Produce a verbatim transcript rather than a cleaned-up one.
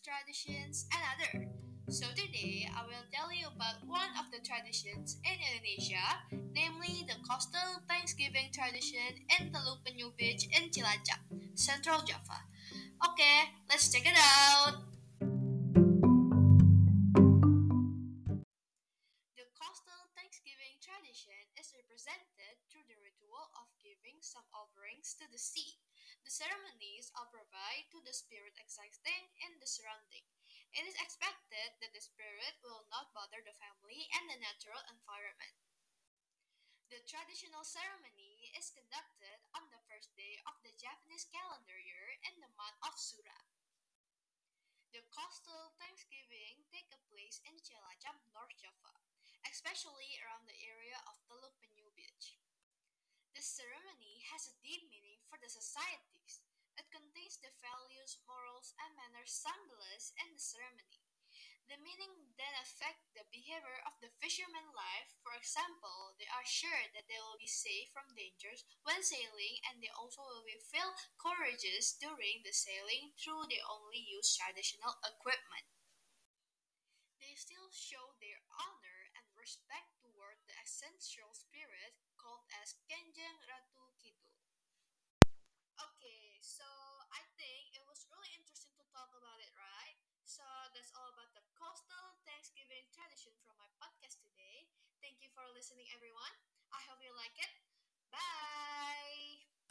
traditions, and other. So today I will tell you about one of the traditions in Indonesia, namely the coastal Thanksgiving tradition in Teluk Penyu Beach in Cilacap, Central Java. Okay, let's check it out. The coastal Thanksgiving tradition is represented through the ritual of giving some offerings to the sea. The ceremonies are provided to the spirit existing in the surrounding. It is expected that the spirit will not bother the family and the natural environment. The traditional ceremony is conducted on the first day of the Japanese calendar year in the month of Sura. The coastal Thanksgiving take place in Cilacap, North Java, especially around the area of Teluk Penyu Beach. This ceremony has a deep meaning for the societies. It contains the values, morals, and manners symbolized in the ceremony. The meaning then affect the behavior of the fishermen life. For example, they are sure that they will be safe from dangers when sailing and they also will be feel courageous during the sailing through they only use traditional equipment. They still show their honor and respect toward the ancestral spirit called as Kenjeng Ratu Kidul. Okay, so I think it was really interesting to talk about it, right? So that's all about the coastal Thanksgiving tradition from my podcast today. Thank you for listening, everyone. I hope you like it. Bye.